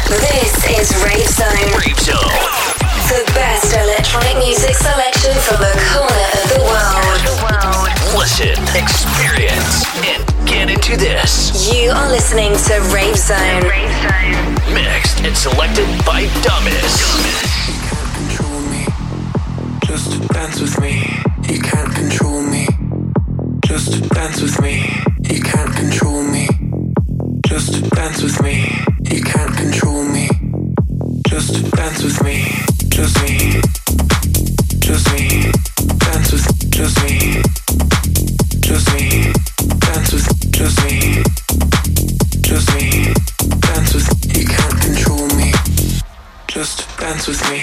This is Rave Zone. Rave Zone. The best electronic music selection from the corner of the world. Listen, experience, and get into this. You are listening to Rave Zone. Mixed and selected by Dumbest. Just dance with me. You can't control me. Just dance with me. You can't control me. Just dance with me. You can't control me. Just dance with me. Just me. Just me. Dance with just me. Just me. Dance with just me. Just me. Dance with you can't control me. Just dance with me.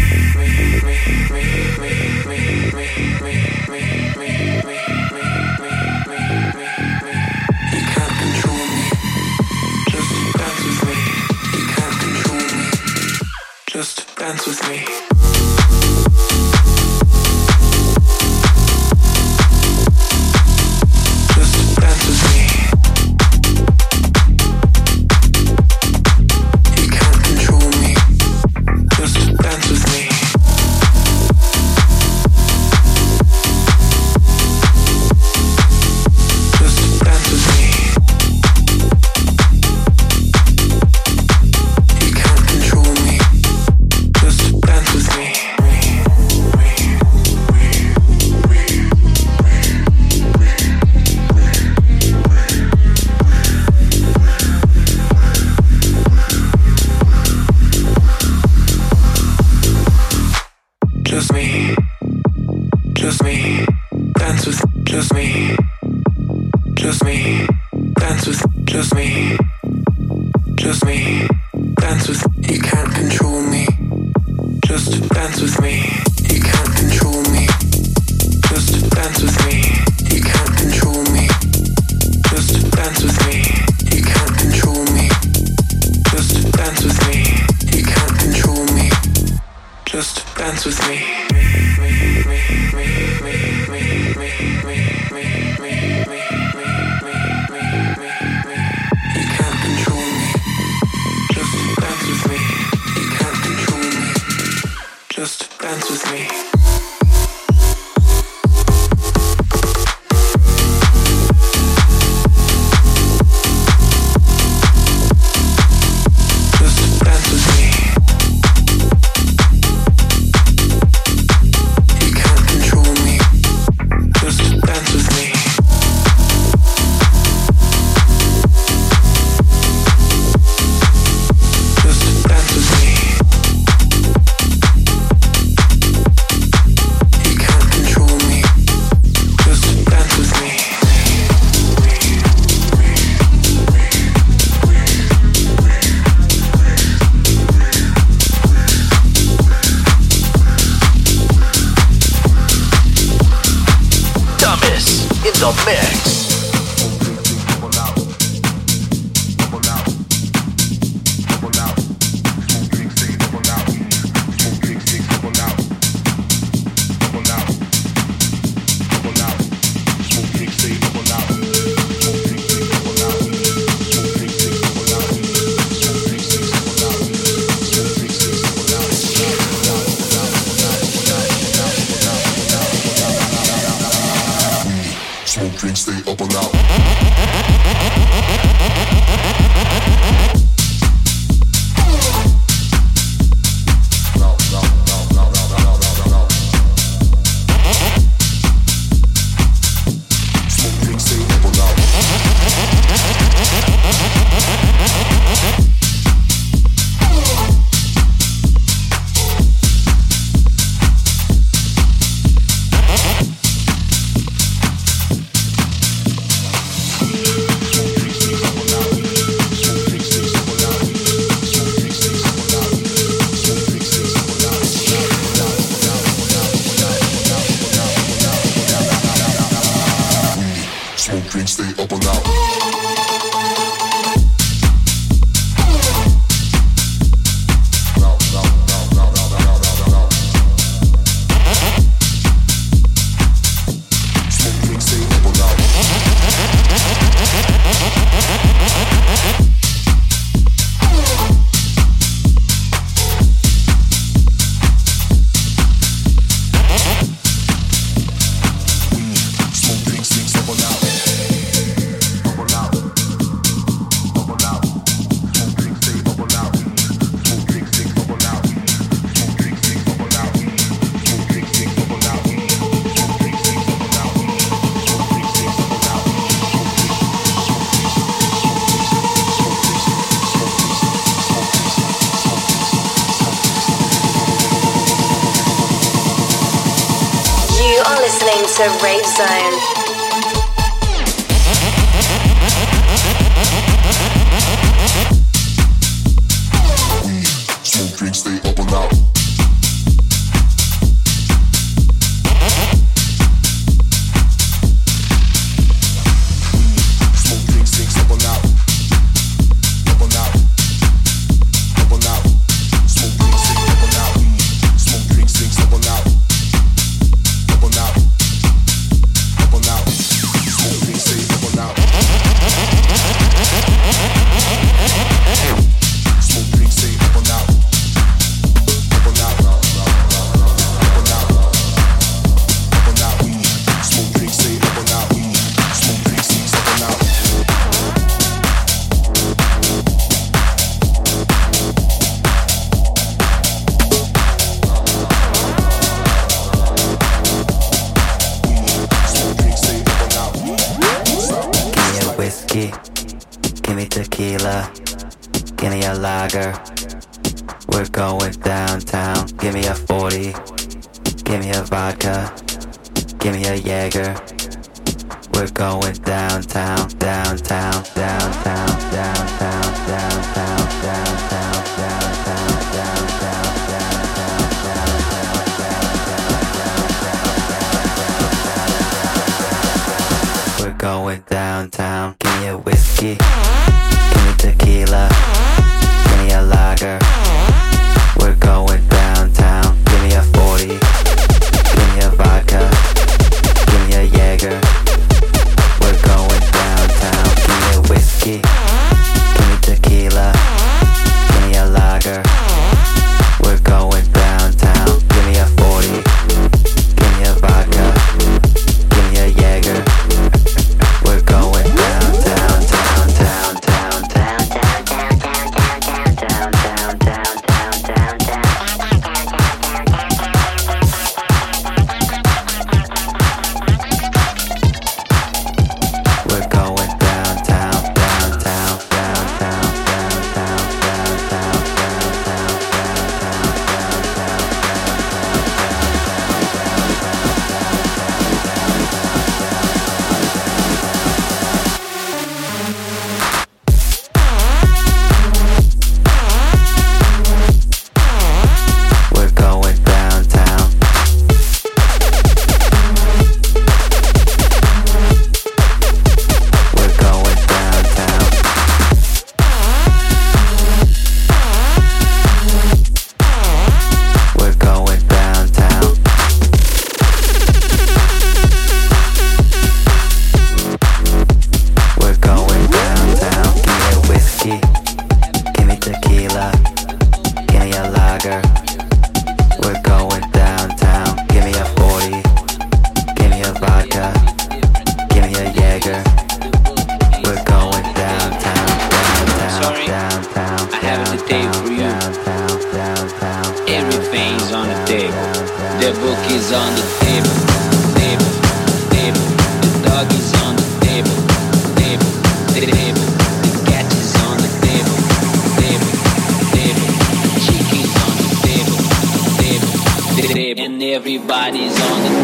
Just dance with me. Just dance with me. You can't control me. Just dance with me. Just dance with me. You can't control me. Just dance with me. Just me. Just me. Dance with just me. Just me. Dance with just me. Just me. Dance with you can't control me. Just dance with me. You can't control me. Just dance with me. You can't control me. Just dance with me. You can't control me. Just dance with me. You can't control me. Just dance with me. You can't control me. Just dance with me. You can't control me. Just dance with me. Just dance with me. You can't control me. Just dance with me. Just dance with me. You can't control me. Just dance with me. Dumbest in the mix. Smoke, drink, stay up to Rave Zone. Smoke drinks, stay up and out. Smoke drinks, six up and out. Up and out. Up and out. Smoke drinks, six up and out. Smoke drinks, six up and out. Up and out. Up and out. Smoke drinks, stay up and out. Smoke drinks, stay up and out. Give me tequila, give me a lager. We're going downtown. Give me a 40, give me a vodka, give me a Jaeger. We're going downtown, downtown, downtown, downtown, downtown, downtown, downtown, downtown, downtown. We're going downtown. Give me a whiskey, give me tequila, give me a lager. We're going downtown. Give me a 40, give me a vodka, give me a Jaeger. We're going downtown. Give me a whiskey, give me tequila, give me a lager. We're going downtown. Give me a 40, give me a vodka, give me a Jaeger. We're going downtown, down, down, down, down, down, down, down, down, down, down, we're going downtown, downtown, downtown, downtown, downtown, we're going downtown. We're going downtown. We're going downtown. We're going downtown. Give me a whiskey, give me tequila, give me a lager. We're going downtown. Give me a 40, give me a vodka, give me a Jaeger. We're going downtown, downtown, Sorry, downtown, I have a date for you. downtown, downtown. Everything's on the table. The book is on the table. Table, table. The dog is on the table. Table, table. The cat is on the table. Table, table. The chicken's on the table. Table, table. And everybody's on the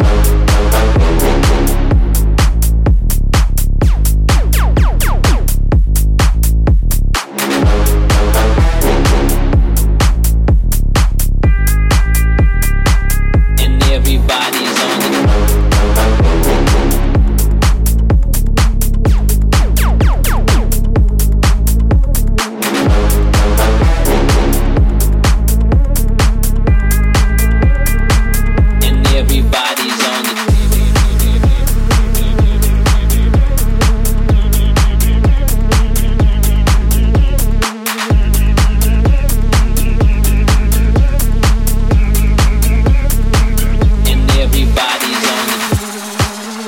and everybody's on the and everybody's on the and everybody's on the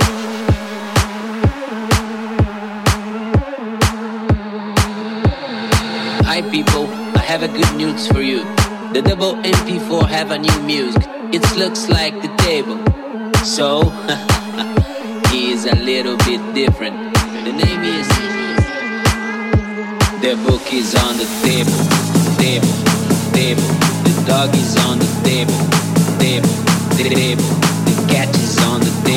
Hi people, I have a good news for you. The double MP4 have a new music. It looks like the table. So, he is a little bit different. The name is The book is on the table. Table, table. The dog is on the table. Table, table. The cat is on the table.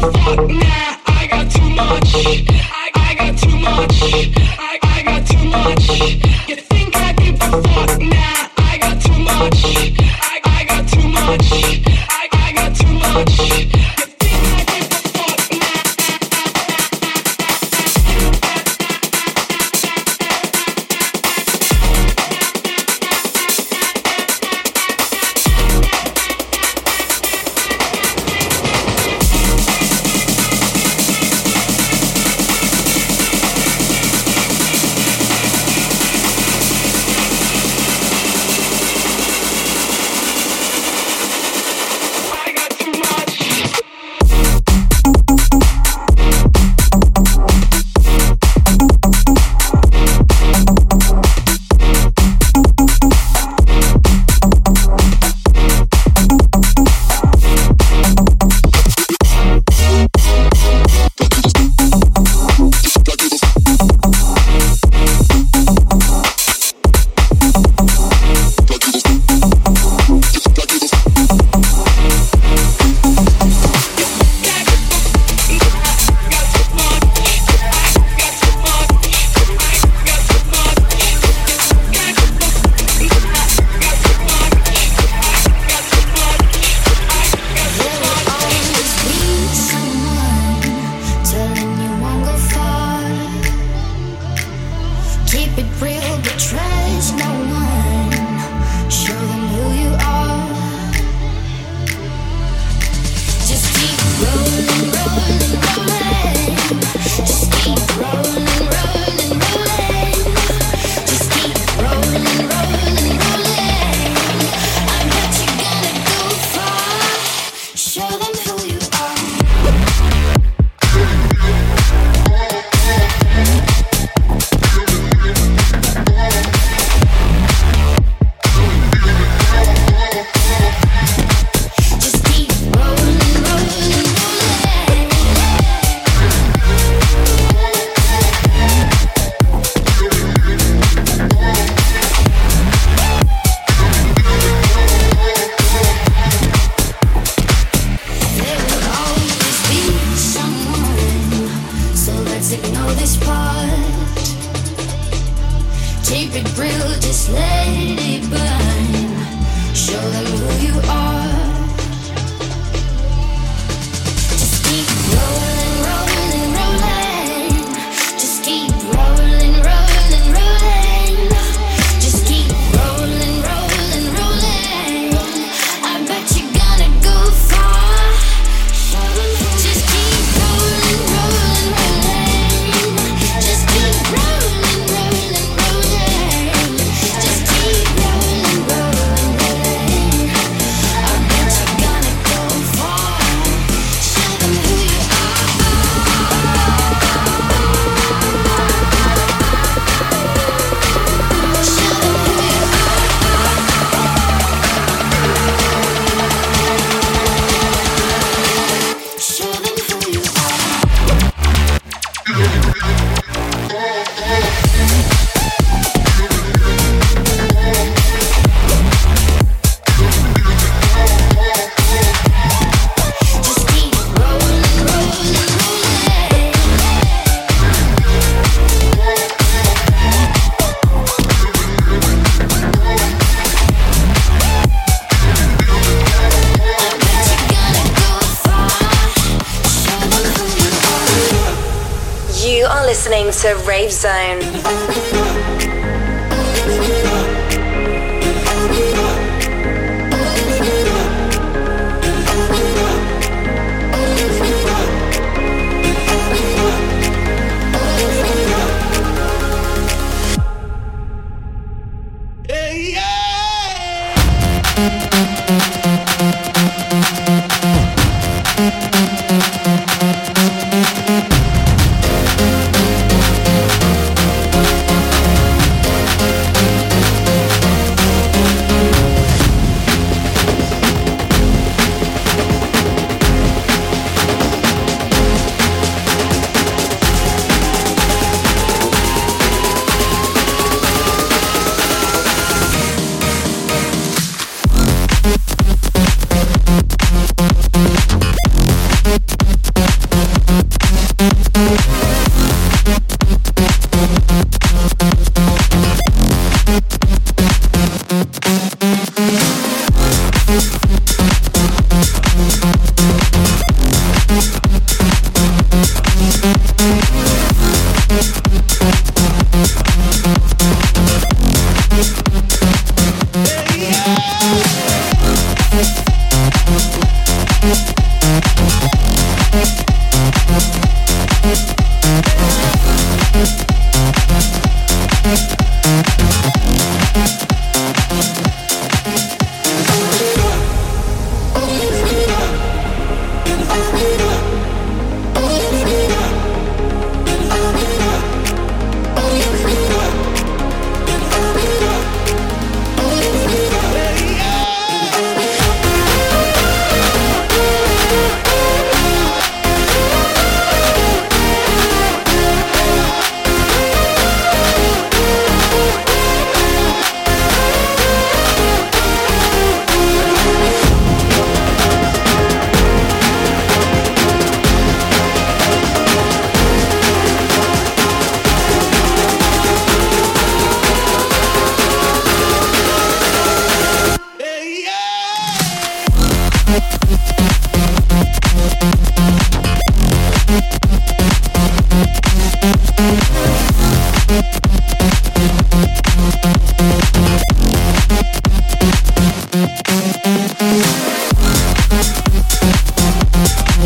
listening to Rave Zone.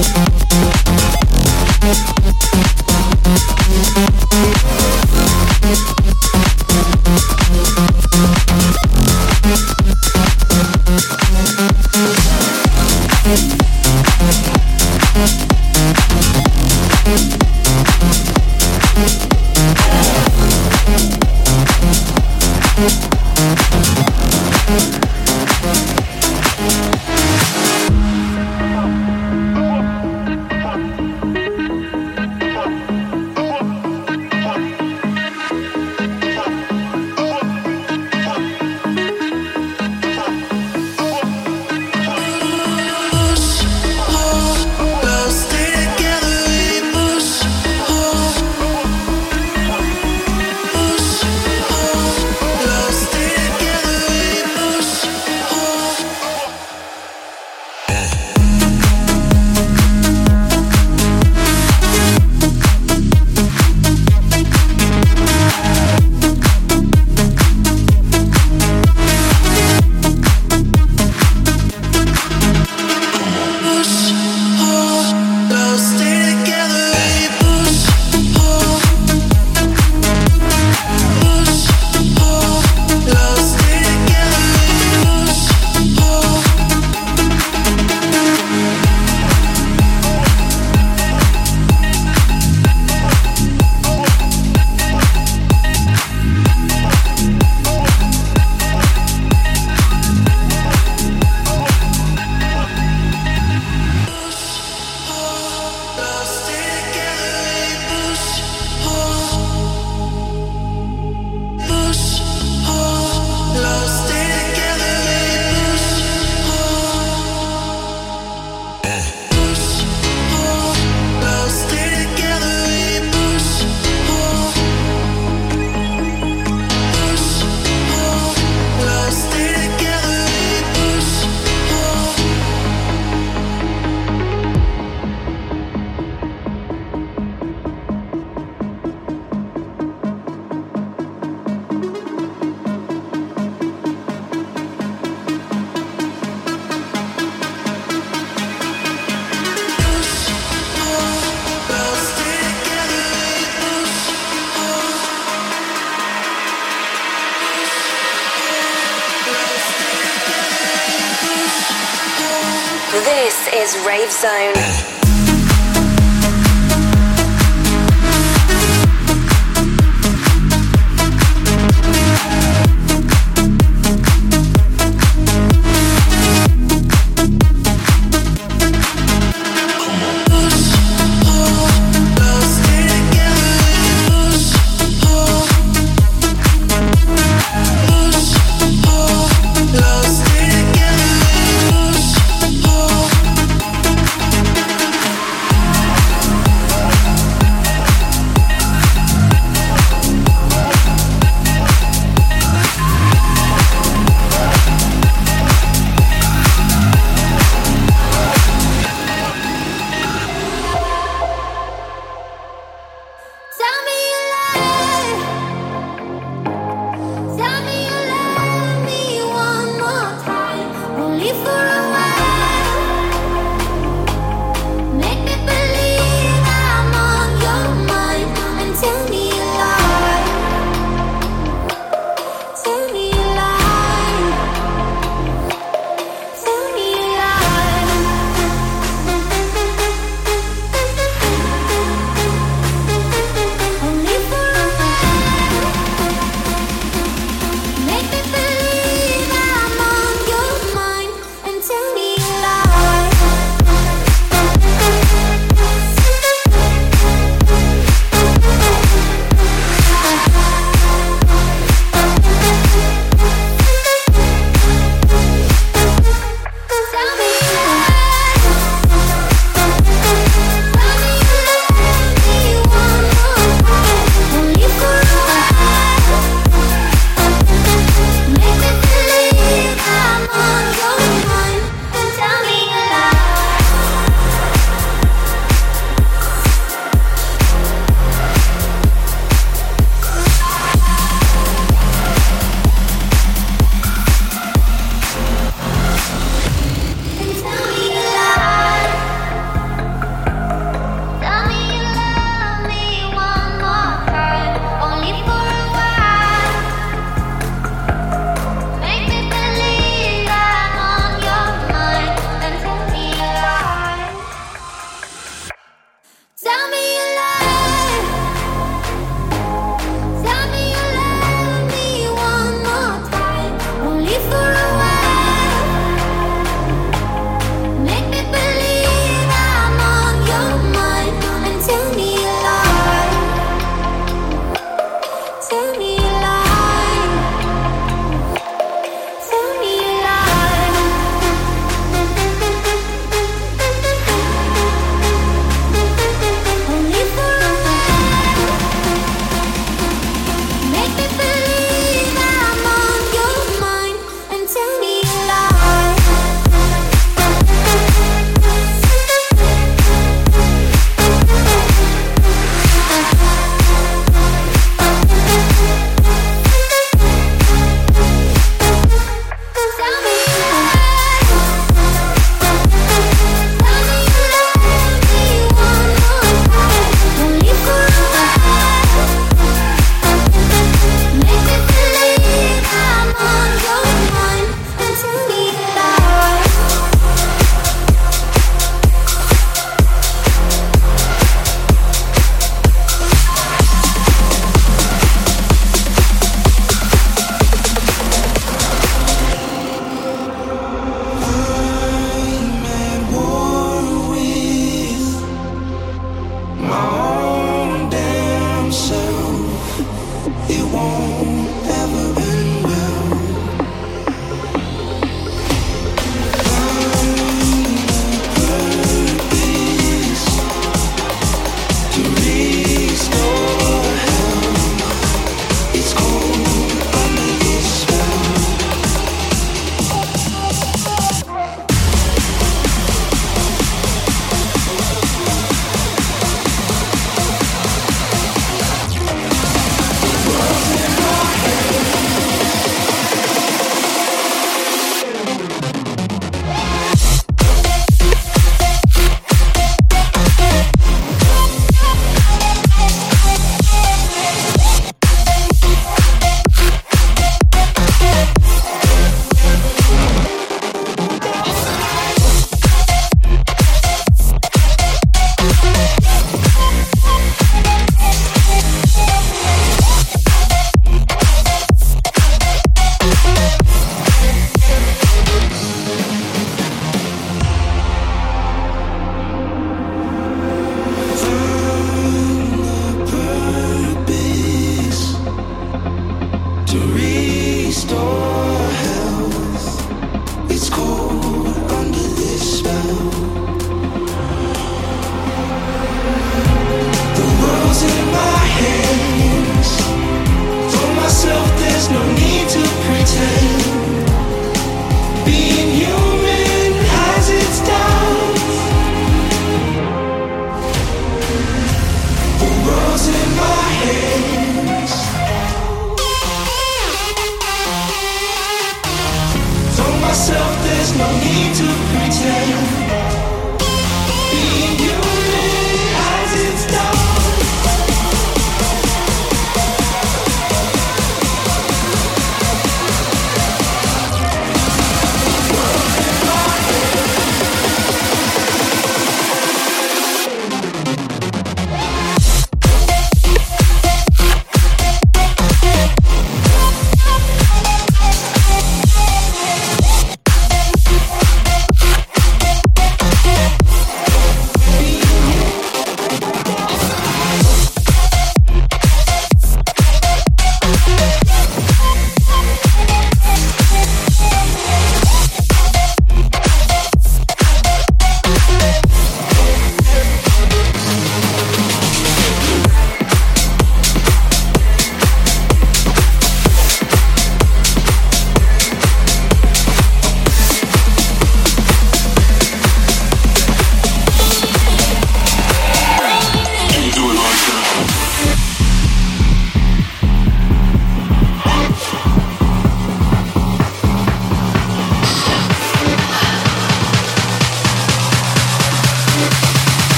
This is Rave Zone.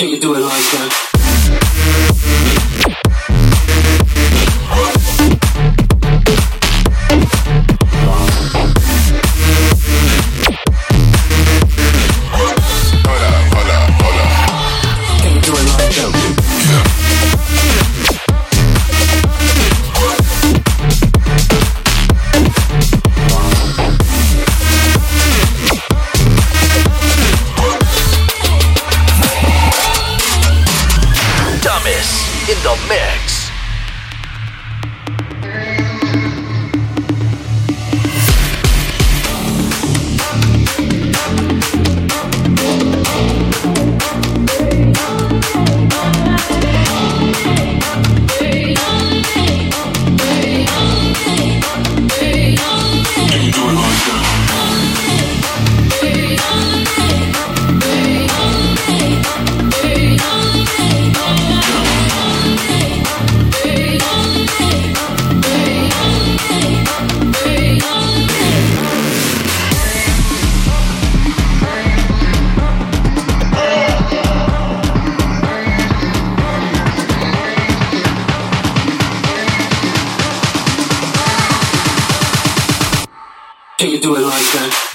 Can you do it like that? In the mix. Can you do it like that?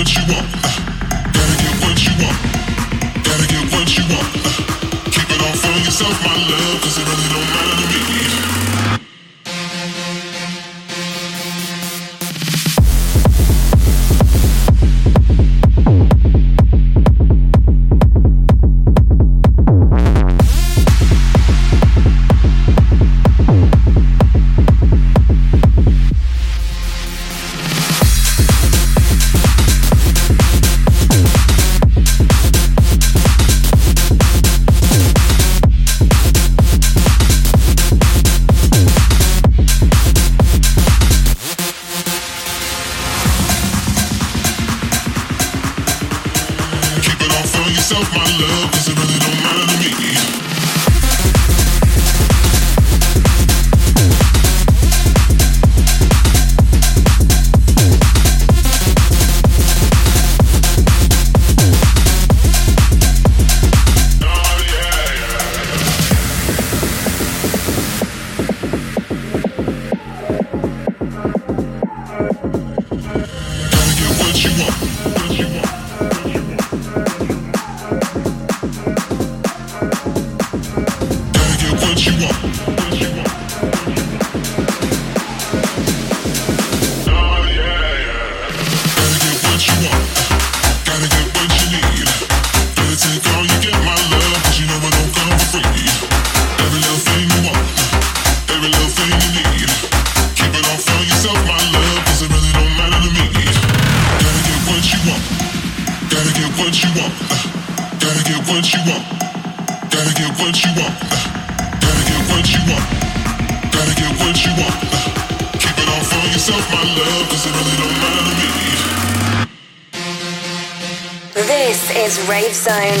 This is Rave Zone.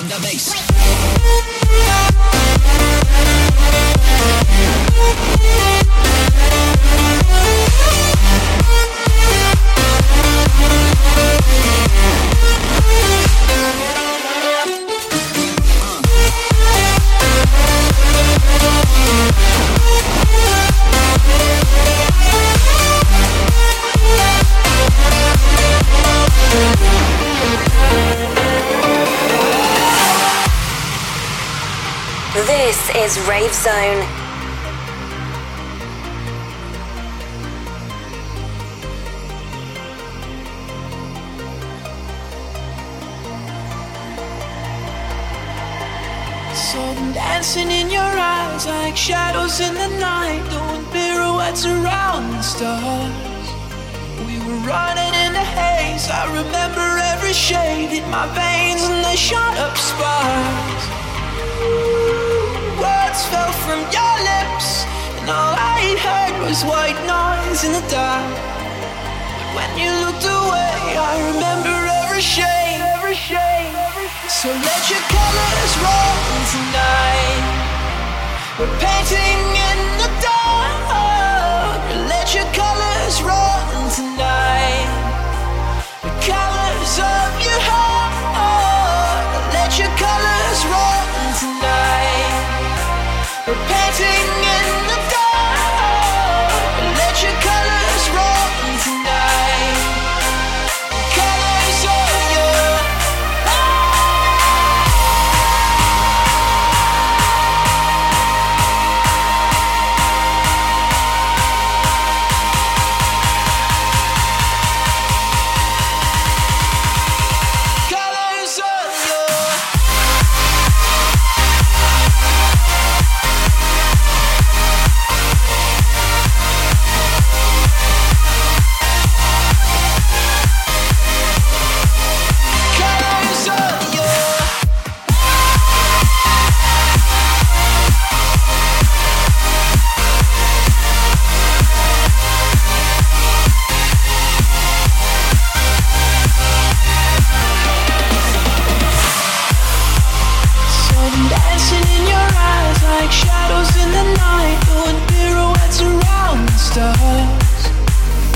the bass. This is Rave Zone. Saw them dancing in your eyes like shadows in the night, doing pirouettes around the stars. We were running in the haze, I remember every shade in my veins and they shot up sparks. Words fell from your lips, and all I heard was white noise in the dark. But when you looked away, I remember every shade, every shade. So let your colors roll tonight. We're painting in the dark. Let your colors roll tonight. The colors of your heart. Let your colors roll tonight. We're painting in the dark. Let your colors roll tonight. The colors of your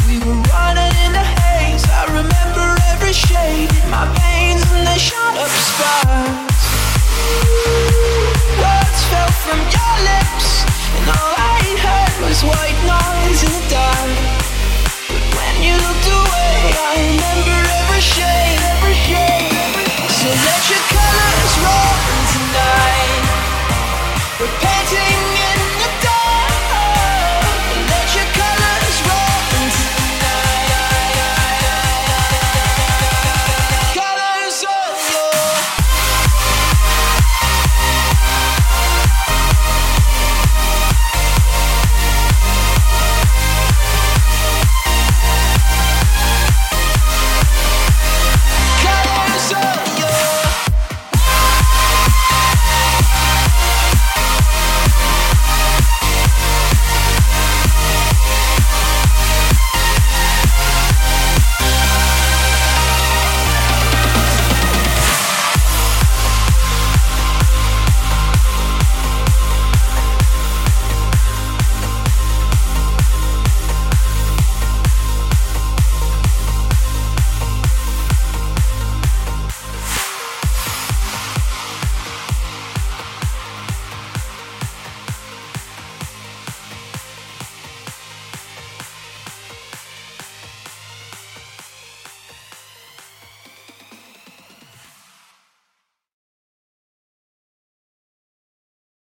shade in my veins and they shot up.